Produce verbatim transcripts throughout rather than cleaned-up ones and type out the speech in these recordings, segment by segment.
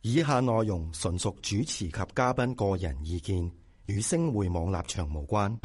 以下內容純屬主持及嘉賓個人意見，與星匯網立場無關。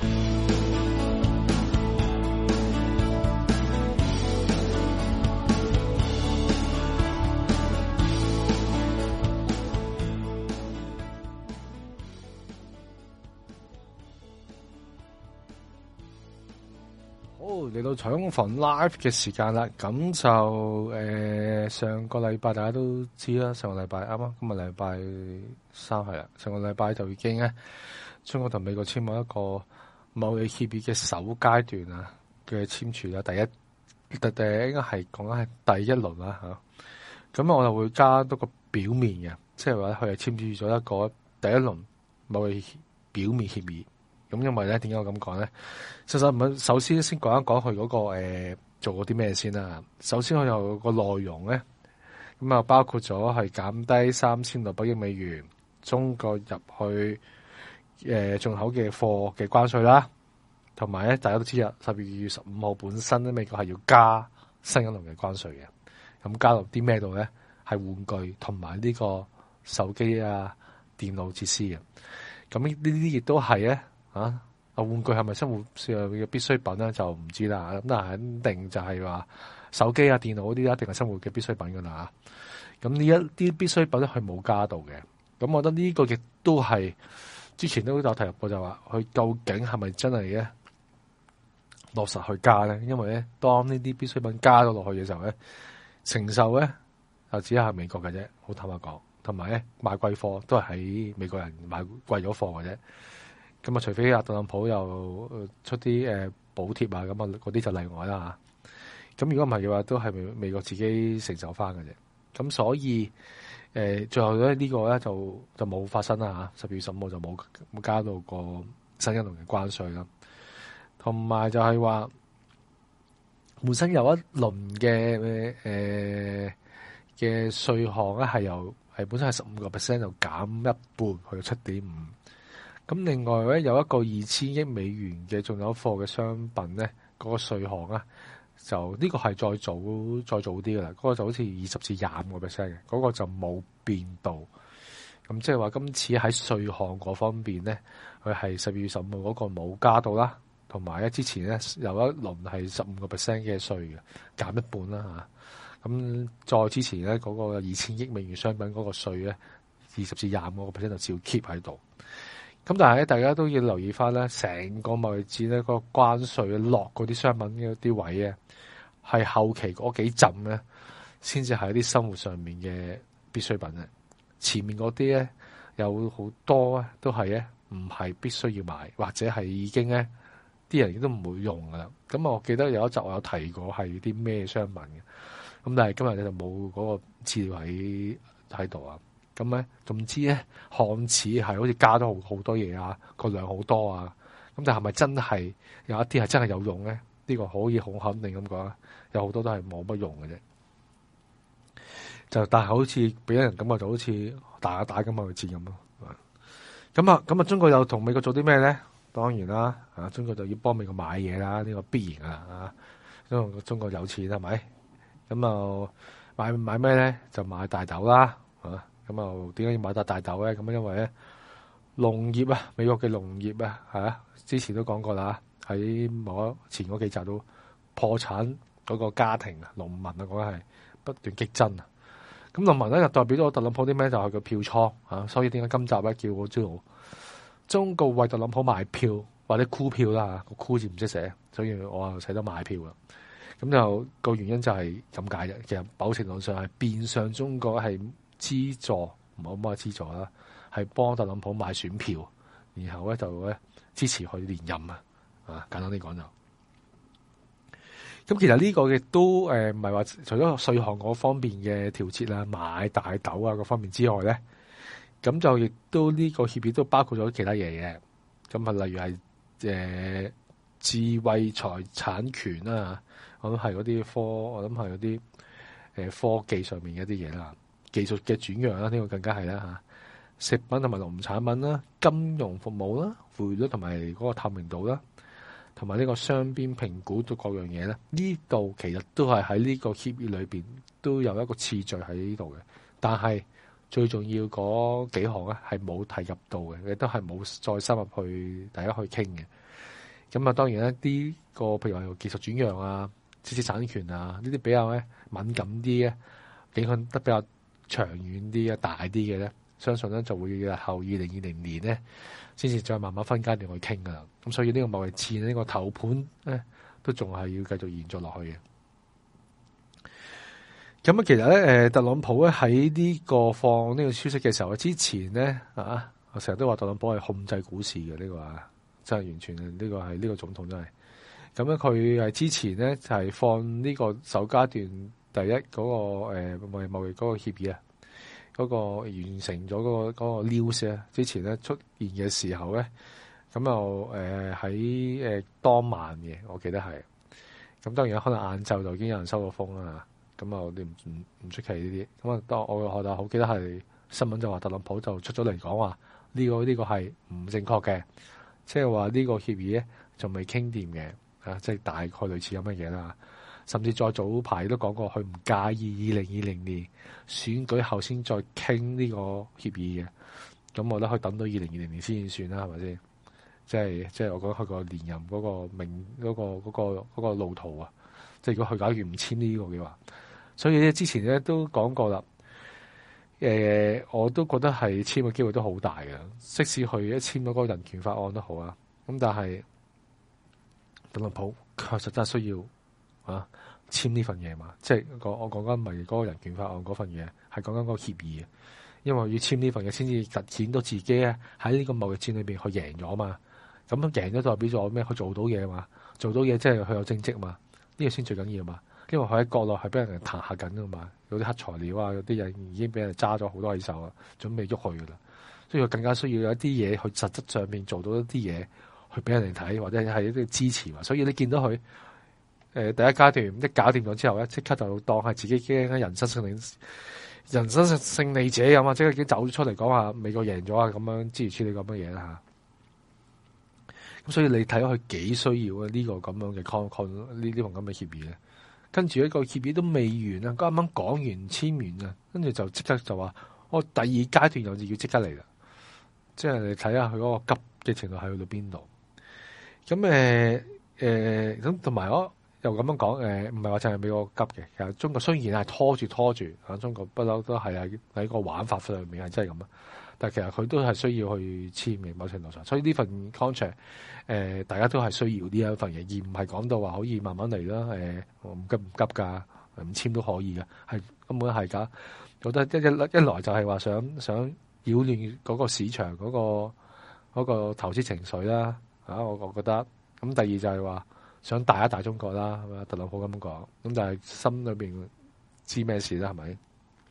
嚟到彩虹房 live 嘅時間啦，咁就誒、呃、上個禮拜大家都知啦，上個禮拜啱啱今日禮拜三係啦，上個禮拜就已經咧，中國同美國簽咗一個貿易協議嘅首階段啊嘅簽署啦，第一第第應該係講緊係第一輪啦嚇，咁我就會加多個表面嘅，即係話佢係簽署咗一個第一輪貿易表面協議。咁因為咧，點解我咁講咧？實實唔係，首先先講一講佢嗰個誒、呃、做過啲咩先啦。首先佢有個內容咧，咁啊包括咗係減低三千六百億美元中國入去誒進、呃、口嘅貨嘅關稅啦，同埋咧大家都知啊，十二月十五號本身咧美國係要加新一輪嘅關稅嘅，咁加入啲咩度咧？係玩具同埋呢個手機啊、電腦設施嘅。咁呢呢啲亦都係咧。啊！啊玩具係咪生活上嘅必需品咧？就唔知啦。咁但係肯定就係話手機啊、電腦嗰啲一定係生活嘅必需品噶啦。咁呢一啲必需品咧，佢冇加到嘅。咁我覺得呢個亦都係之前都有提及過，就話佢究竟係咪真係咧落實去加咧？因為咧，當呢啲必需品加咗落去嘅時候咧，承受咧就只係美國嘅啫。好坦白講，同埋咧買貴貨都係喺美國人買貴咗貨嘅啫。咁啊，除非阿特朗普又出啲誒補貼啊，咁啊嗰啲就例外啦嚇。咁如果唔係嘅話，都係美美國自己承受翻嘅啫。咁所以誒、呃，最後咧呢個咧就就冇發生啦嚇。十月十五號就冇冇加到個新一輪嘅關稅啦。同埋就係話本身有一輪嘅誒嘅稅項咧，係由係本身係十五個 percent 就減一半去到七點五。咁另外咧有一個二千億美元嘅進口貨嘅商品咧，嗰、那個稅項啊，就呢、這個係再早再早啲嘅啦，嗰、那個就好似二十至廿五個 percent 嘅，嗰、那個就冇變到。咁即係話今次喺稅項嗰方面咧，佢係十二月十五號嗰個冇加到啦，同埋咧之前咧有一輪係十五個 percent 嘅稅嘅，減一半啦嚇。咁再之前咧嗰、那個二千億美元商品嗰個稅咧，二十至廿五個 percent 就照 keep 喺度。咁但係咧，大家都要留意翻咧，成個貿易戰咧，個關稅落嗰啲商品嘅啲位咧，係後期嗰幾陣咧，先至係一啲生活上面嘅必需品咧。前面嗰啲咧，有好多咧，都係咧，唔係必須要買，或者係已經咧，啲人亦都唔會用噶啦。咁我記得有一集我有提過係啲咩商品嘅，咁但係今日你就冇嗰個資料喺喺度啊。咁咧，總之咧，看似係好似加咗好好多嘢啊，個量好多啊，咁但係咪真係有一啲係真係有用咧？呢、呢個可以好肯定咁講，有好多都係冇乜用嘅啫。就但係好似俾人感覺就好似打打咁去戰咁咯。咁啊，咁啊，中國又同美國做啲咩咧？當然啦，啊，中國就要幫美國買嘢啦，呢、呢個必然啊，啊，因為中國有錢係咪？咁啊，買買咩咧？就買大豆啦，啊。咁啊，點解要買笪大豆咧？咁因為咧，農業啊，美國嘅農業啊，係啊，之前都講過啦，喺某前嗰幾集都破產嗰個家庭啊，農民啊，講緊係不斷激增啊。咁農民咧就代表咗特朗普啲咩？就係個票倉啊。所以點解今集咧叫我知道中國為特朗普買票或者箍票啦？個箍字唔識寫，所以我啊寫得買票啦。咁就個原因就係咁解嘅。其實某程度上係變相中國係。資助唔好乜嘢資助啦，係幫特朗普買選票，然後咧就咧支持佢連任啊！啊，簡單啲講就，咁其實呢個亦都誒唔係話除咗稅項嗰方面嘅調節啦，買大豆啊嗰方面之外咧，咁就亦都呢個協議都包括咗其他嘢嘅，咁啊例如係誒、呃、智慧財產權啦，我諗係嗰啲科，我諗係嗰啲誒科技上面嘅一啲嘢啦。技術嘅轉讓啦，呢個更加係啦嚇。食品同埋農產品啦，金融服務啦，匯率同埋嗰個透明度啦，同埋呢個雙邊評估到各樣嘢咧，呢度其實都係喺呢個協議裏邊都有一個次序喺呢度嘅。但係最重要嗰幾項咧係冇提及到嘅，亦都係冇再深入去大家去傾嘅。咁啊，當然咧啲個譬如話技術轉讓啊、知識產權啊呢啲比較咧敏感啲嘅，影響得比較長遠啲啊、大啲嘅咧，相信咧就會日後二零二零年咧先至再慢慢分階段去傾噶啦。咁所以呢個貿易戰呢、呢個頭盤咧都仲係要繼續延續落去嘅。咁啊，其實咧，誒，特朗普咧喺呢個放呢個消息嘅時候，之前咧啊，我成日都話特朗普係控制股市嘅呢個啊，真係完全係呢個係呢個總統真係。咁咧，佢係之前咧就係放呢個首階段第一嗰個誒貿易貿易嗰個協議啊，嗰個完成咗嗰個嗰個 news 啊，之前咧出現嘅時候咧，咁又誒喺誒當晚嘅，我記得係。咁當然可能晏晝就已經有人收到風啦。咁啊，我哋唔唔唔出奇呢啲。咁啊，當我我就好記得係新聞就話特朗普就出咗嚟講話呢個呢個係唔正確嘅，即係話呢個協議咧仲未傾掂嘅，啊，即係大概類似咁嘅嘢啦。甚至再早排都講過，佢唔介意二零二零年選舉後先再傾呢個協議嘅。咁我覺得可以等到二零二零年先算啦，係咪先？即係即係我覺得佢個連任嗰個命嗰個嗰個嗰個路途啊，即係如果佢假如唔簽呢個嘅話。所以咧，之前咧都講過啦。誒、呃，我都覺得係簽嘅機會都好大嘅。即使佢一簽咗嗰個人權法案都好啊。咁但係特朗普確實真係需要啊簽呢份嘢嘛。即係我我講緊唔係嗰個人權法案嗰份嘢，係講緊嗰個協議。因為要簽呢份嘢，先至凸顯到自己咧喺呢個貿易戰裏邊佢贏咗嘛。咁贏咗代表咗咩？佢做到嘢嘛，做到嘢即係佢有政績嘛。呢、這個先最緊要嘛。因為佢喺國內係俾人彈下緊噶嘛，有啲黑材料啊，有啲人已經俾人揸咗好多喺手啊，準備喐去噶啦，所以佢更加需要有一啲嘢去實質上面做到一啲嘢去俾人哋睇，或者係一啲支持嘛。所以你見到佢誒、呃、第一階段一搞掂咗之後咧，即刻就當係自己驚人生勝利人生勝利者咁啊，即刻已經走出嚟講話美國贏咗啊，咁樣諸如此類咁嘅嘢啦嚇。咁所以你睇到佢幾需要啊呢個咁樣嘅 con con 呢呢份咁嘅協議咧。跟住一個協議都未完啊，啱啱講完簽完啊，跟住就即刻就話我第二階段又要即刻嚟啦，即係你睇下佢嗰個急嘅程度係去到邊度。咁誒誒咁同埋我又咁樣講誒，唔係話淨係美國急嘅，其實中國雖然係拖住拖住啊，中國不嬲都係喺喺個玩法上面係真係咁啊。但係其實佢都係需要去簽嘅，某程度上，所以呢份 contract 誒、呃，大家都係需要呢一份嘢，而唔係講到話可以慢慢嚟啦。誒、呃，我唔急唔急㗎，唔簽都可以嘅，係根本係㗎。覺得一一一來就係話想想擾亂嗰個市場嗰、嗰個嗰、嗰個投資情緒啦。啊，我我覺得咁第二就係話想大一大中國啦，係咪？特朗普咁講，咁但係心裏邊知咩事啦，係咪？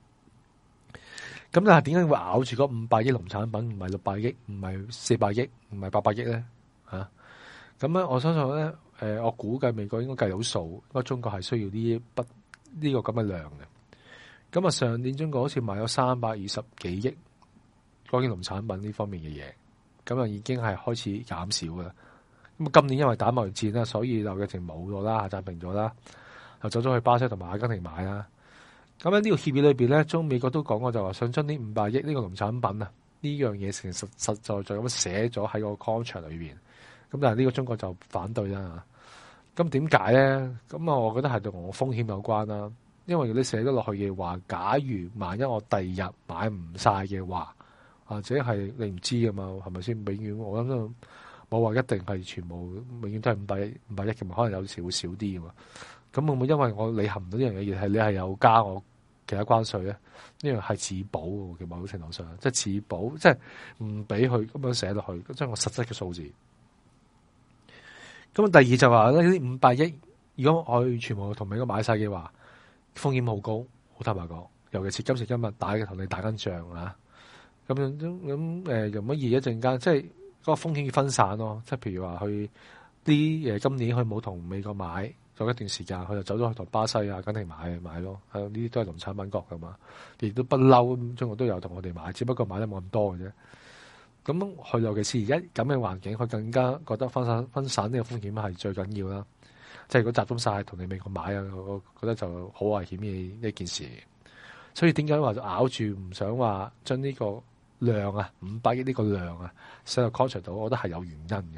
咁但係點解會咬住嗰五百億農產品，唔係六百億，唔係四百億，唔係八百億咧？嚇咁咧，我相信咧，誒、呃，我估計美國應該計到數，因為中國係需要呢筆呢個咁嘅量嘅。咁啊，上年中國好似買咗三百二十幾億關於農產品呢方面嘅嘢，咁啊已經係開始減少噶啦。咁啊，今年因為打貿易戰啦，所以貿易淨冇咗啦，暫停咗啦，又走咗去巴西同埋阿根廷買啦。咁喺呢個協議裏邊咧，中美國都講過就話想將呢五百億呢個農產品啊，呢樣嘢成實實在在咁寫咗喺個 contract 裏邊。咁但係呢個中國就反對啦。咁點解咧？咁啊，我覺得係同我風險有關啦。因為如果你寫咗落去嘅話，假如萬一我第二日買唔晒嘅話，或者係你唔知㗎嘛，係咪先？永遠我諗都冇話一定係全部永遠都係五百億五百億嘅嘛，可能有時會少啲㗎嘛。咁會唔會因為我履行唔到呢樣嘢，而係你係有加我其他關稅咧？呢樣係自保嘅某程度上，即係自保，即係唔俾佢咁樣寫落去，即係我實質嘅數字。咁第二就話咧，呢五百億，如果我全部同美國買晒嘅話，風險好高，好坦白講。尤其是今時今日打嘅同你打緊仗啊，咁樣咁誒，容乜易一陣間，即係嗰個風險要分散咯。即係譬如話去啲誒，今年佢冇同美國買。咗一段時間，佢就走咗去同巴西啊、阿根廷買買咯，係呢啲都係農產品國噶嘛，亦都不嬲，中國都有同我哋買，只不過買得冇咁多嘅啫。咁佢尤其是而家咁嘅環境，佢更加覺得分散分散呢個風險係最緊要啦。即係如果集中晒同你美國買啊，我覺得就好危險嘅一件事。 所以點解話咬住唔想話將呢個量啊五百億呢個量啊寫入 contract 度，我覺得係有原因嘅。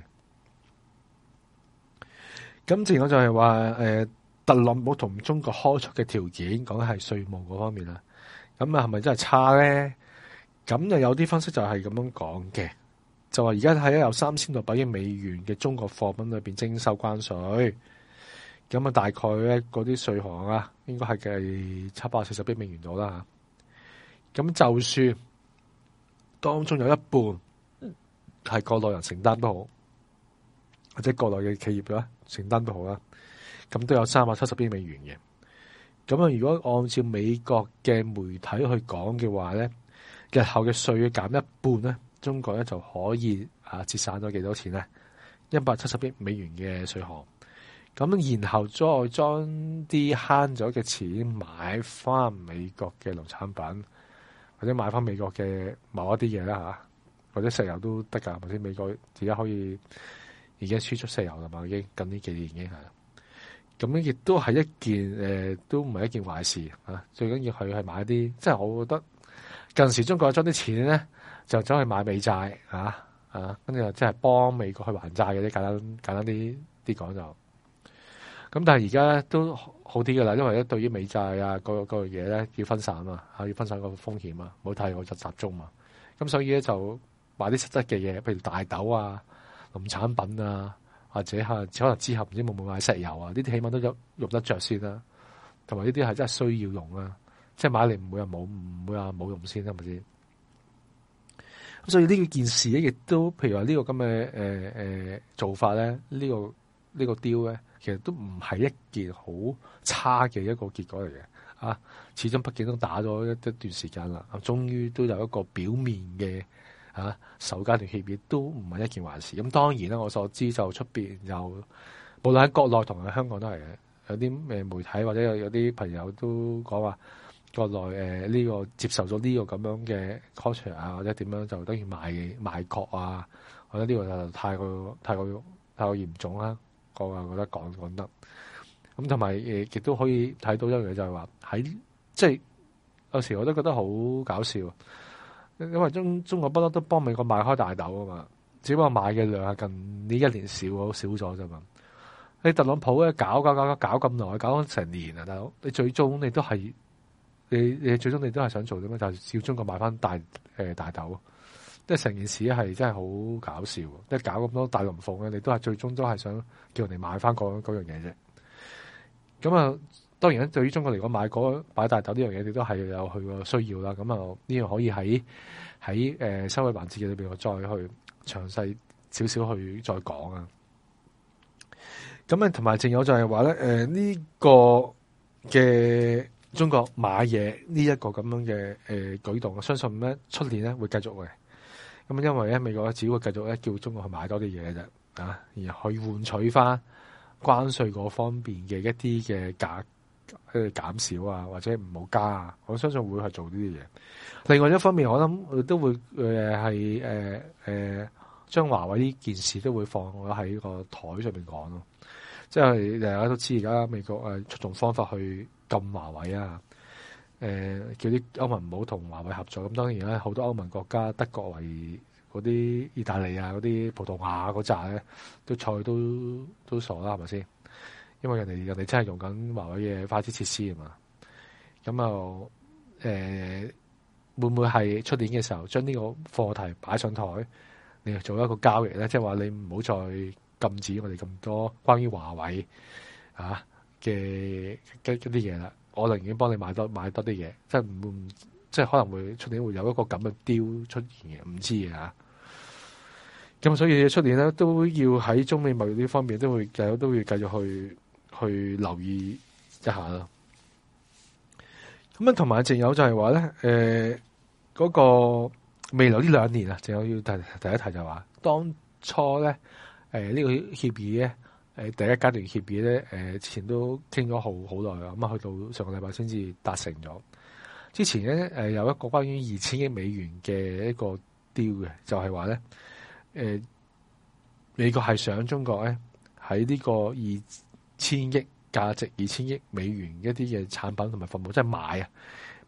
咁仲有就係話誒特朗普同中國開出嘅條件，講緊係稅務嗰方面啦。咁啊係咪真係差咧？咁又有啲分析就係咁樣講嘅，就話而家喺有三千六百億美元嘅中國貨品裏邊徵收關稅，咁啊大概咧嗰啲稅項啊，應該係計七百四十億美元度啦嚇。咁就算當中有一半係國內人承擔都好，或者國內嘅企業啦承擔都好啦，咁都有三百七十億美元嘅。咁啊，如果按照美國嘅媒體去講嘅話咧，日後嘅稅減一半咧，中國咧就可以啊節省咗幾多錢咧？一百七十億美元嘅稅項。咁然後再將啲慳咗嘅錢買翻美國嘅農產品，或者買翻美國嘅某一啲嘢啦嚇，或者石油都得㗎，或者美國而家可以而家輸出石油啦嘛，已經近呢幾年已經係。咁樣亦都係一件誒、呃，都唔係一件壞事啊！最緊要係係買啲，即係我覺得近時中國將啲錢咧就走去買美債啊啊，跟住即係幫美國去還債嘅啲簡單簡單啲啲講就。咁但係而家咧都好啲㗎啦，因為咧對於美債啊嗰嗰樣嘢咧要分散啊，嚇要分散個風險啊，冇太過就集中嘛。咁所以咧就買啲實質嘅嘢，譬如大豆啊、農產品啊。或者係可能之後唔知會唔會買石油啊？呢啲起碼都有用得着先啦，同埋呢啲係真係需要用啦，即係買嚟唔會話冇，唔會話冇用先啦，係咪先？咁所以呢件事咧，亦都譬如話呢個咁嘅誒誒做法咧，呢、這個呢、這個 deal 咧，其實都唔係一件好差嘅一個結果嚟嘅啊！始終畢竟都打咗一一段時間啦，啊，終於都有一個表面嘅。啊，首階段協議都唔係一件壞事。咁當然啦，我所知就出邊有，無論喺國內同埋香港都係嘅。有啲誒媒體或者有有啲朋友都講話，國內誒呢、呃這個接受咗呢個咁樣嘅 contract 啊，或者點樣就等於賣賣國啊，或者呢個就太過太過太過嚴重啦。我啊覺得講講得咁，同埋誒亦都可以睇到一樣嘢，就係話喺即係有時我都覺得好搞笑。因為中中國不嬲都幫美國買開大豆啊嘛，只不過買嘅量係近呢一年少少咗啫嘛。你特朗普咧搞搞搞搞搞咁耐，搞咗成年啊，大佬，你最終你都係你你最終你都係想做啲咩？就係要中國買翻大誒、呃、大豆，即係成件事係真係好搞笑。即係搞咁多大龍鳳咧，你都係最終都係想叫人哋買翻嗰嗰樣嘢啫。咁啊。當然咧，對於中國嚟講，買嗰買大豆呢樣嘢，你都係有佢個需要啦。咁啊，呢樣可以喺喺誒收尾環節裏邊，我再去詳細少少去再講啊。咁啊，同埋仲有就係話咧，誒、呃、呢、這個嘅中國買嘢呢一個咁樣嘅誒、呃、舉動，我相信咧出年咧會繼續嘅。咁因為咧美國只會繼續咧叫中國去買多啲嘢嘅啫，啊，然後去換取翻關稅嗰方面嘅一啲嘅價。誒減少啊，或者唔好加啊，我相信會係做呢啲嘢。另外一方面，我諗都會誒係誒誒將華為呢件事都會放咗喺個台上面講咯。即係大家都知而家美國誒出種方法去禁華為啊，誒、呃、叫啲歐盟唔好同華為合作。咁當然咧，好多歐盟國家，德國為嗰啲意大利啊、嗰啲葡萄牙嗰扎咧，都菜都都傻啦，係咪先？因為人哋人哋真係用緊華為嘅快捷設施啊嘛，咁啊誒會唔會係出年嘅時候將呢個課題擺上台，你做一個交易咧？即係話你唔好再禁止我哋咁多關於華為啊嘅嘅啲嘢啦，我寧願幫你買多買多啲嘢，即係唔會即係可能會出年會有一個咁嘅 deal 出現嘅，唔知嘅嚇。咁所以出年咧都要喺中美貿易呢方面都會繼續都會繼續去。去留意一下啦。咁啊，同埋仲有就係話咧，誒、呃、嗰、那個未來呢兩年啊，仲有要提第一提就係話，當初咧誒呢、呃這個協議咧，誒、呃、第一階段協議咧，誒、呃、之前都傾咗好好耐啊，咁啊去到上個禮拜先至達成咗。之前咧誒、呃、有一個關於二千億美元嘅一個 deal 嘅，就係話咧，誒、呃、美國係想中國咧喺呢個二千億價值二千億美元一啲嘅產品同埋服務，即係買啊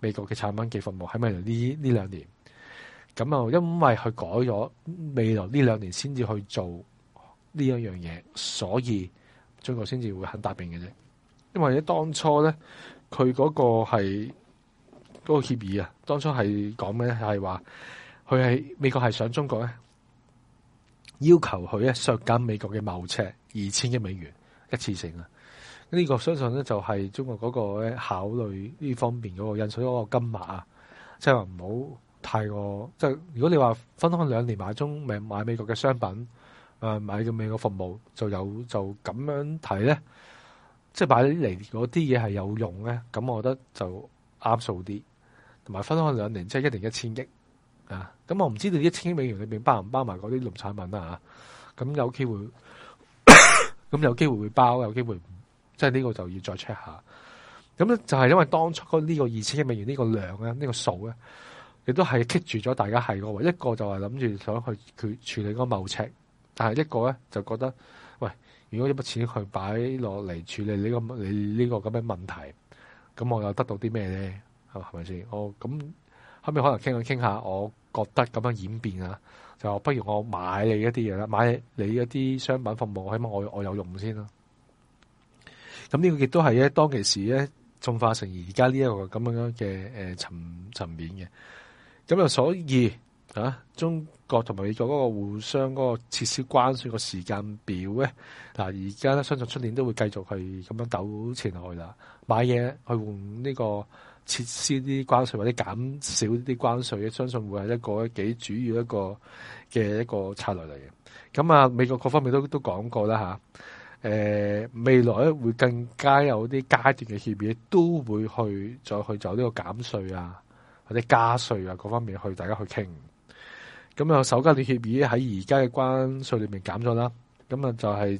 美國嘅產品嘅服務喺未來呢呢兩年。咁啊，因為佢改咗未來呢兩年先至去做呢一樣嘢，所以中國先至會肯答應嘅啫。因為咧當初咧，佢嗰個係嗰個協議啊，當初係講咩咧？係話佢係美國係想中國咧，要求佢咧削減美國嘅貿赤二千億美元一次性啊。呢、這個相信咧就係中國嗰個咧考慮呢方面嗰個因素，嗰個金額啊，即係話唔好太過。即係如果你話分開兩年買中買買美國嘅商品，誒買嘅美國服務，就有就咁樣睇咧。即係買嚟嗰啲嘢係有用咧，咁我覺得就啱數啲，同埋分開兩年，即係一年一千億啊！咁我唔知道一千億美元裏邊包唔包埋嗰啲農產品啊？咁有機會，咁有機會會包，有機會即係呢個就要再 check 下。咁咧就係因為當初呢個二千億美元呢個量咧，呢個數咧，亦都係棘住咗大家係個位，一個就係諗住想去佢處理嗰個貿赤，但係一個咧就覺得，喂。如果一筆錢去擺落嚟處理呢、這個你呢個咁嘅問題，咁我又得到啲咩咧？係咪先？我咁後尾可能傾下傾下，我覺得咁樣演變啊，就不如我買你一啲嘢啦，買你一啲商品服務，起碼我我有用先啦。咁呢個亦都係咧當其時咧進化成而家呢一個咁樣嘅誒層層面嘅。咁啊，所以啊，中國同埋美國嗰個互相嗰個撤銷關稅個時間表咧，嗱而家咧相信出年都會繼續係咁樣糾纏落去啦。買嘢去換呢個撤銷啲關稅或者減少啲關稅咧，相信會係一個幾主要一個嘅一個策略嚟嘅。咁啊，美國各方面都都講過啦嚇，誒未來咧會更加有啲階段嘅協議，都會去再去走呢個減稅啊或者加稅啊各方面去大家去傾。咁啊，首階段協議喺而家嘅關稅裏面減咗啦，咁啊就係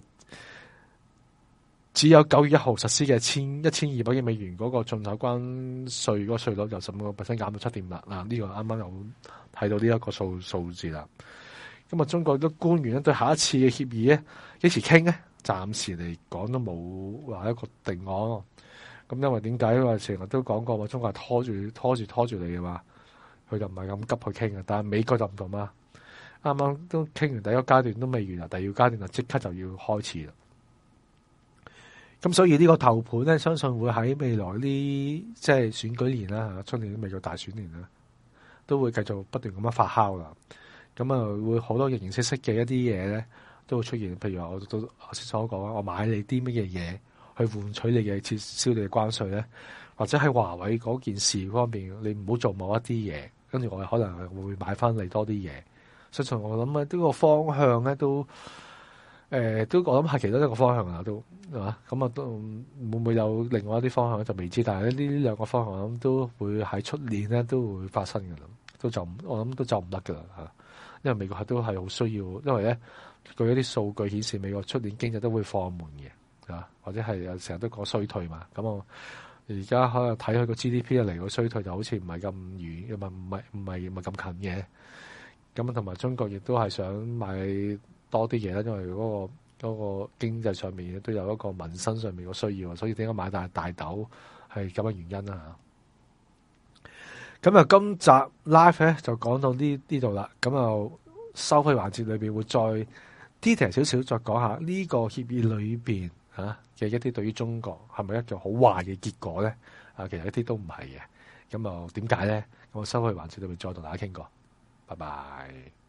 只有九月一號實施嘅千一千二百億美元嗰個進口關稅嗰個稅率由十五個 percent 減到七點八，嗱呢個啱啱有睇到呢一個數數字啦。咁啊，中國啲官員咧對下一次嘅協議咧幾時傾咧？暫時嚟講都冇話一個定案。咁因為點解？因為成日都講過話，中國係拖住拖住拖住嚟嘅嘛。佢就唔係咁急去傾嘅，但係美國就唔同嘛。啱啱都傾完第一個階段都未完啦，第二個階段就即刻就要開始啦。咁所以呢個頭盤咧，相信會喺未來呢即係選舉年啦，出年美國大選年啦，都會繼續不斷咁樣發酵啦。咁啊，會好多形形色色嘅一啲嘢咧，都會出現。譬如話我都頭先所講啊，我買你啲乜嘢嘢去換取你嘅撤銷你嘅關稅咧，或者喺華為嗰件事方面，你唔好做某一啲嘢。跟住我可能會買翻嚟多啲嘢，相信我諗啊，呢個方向咧都誒、呃、都我諗係其中一個方向啦，都係嘛？咁啊都會唔會有另外一啲方向就未知，但係呢呢兩個方向我諗都會喺出年咧都會發生嘅啦，都就我諗都就唔得㗎啦嚇，因為美國係都係好需要，因為咧據一啲數據顯示美國出年經濟都會放緩嘅啊，或者係成日都講衰退嘛，咁我。而家可能睇佢個 G D P 嚟個衰退就好似唔係咁遠，唔係唔係唔係唔係咁近嘅。咁同埋中國亦都係想買多啲嘢啦，因為嗰個嗰個經濟上面都有一個民生上面嘅需要，所以點解買大大豆係咁嘅原因啦。咁啊，今集 live 咧就講到呢呢度啦。咁啊，收費環節裏邊會再 detail 少少，再講下呢個協議裏邊。啊嘅一啲對於中國係咪一個好壞嘅結果咧？啊，其實一啲都唔係嘅。咁啊，點解咧？咁我收去環節裏面再同大家傾過。拜拜。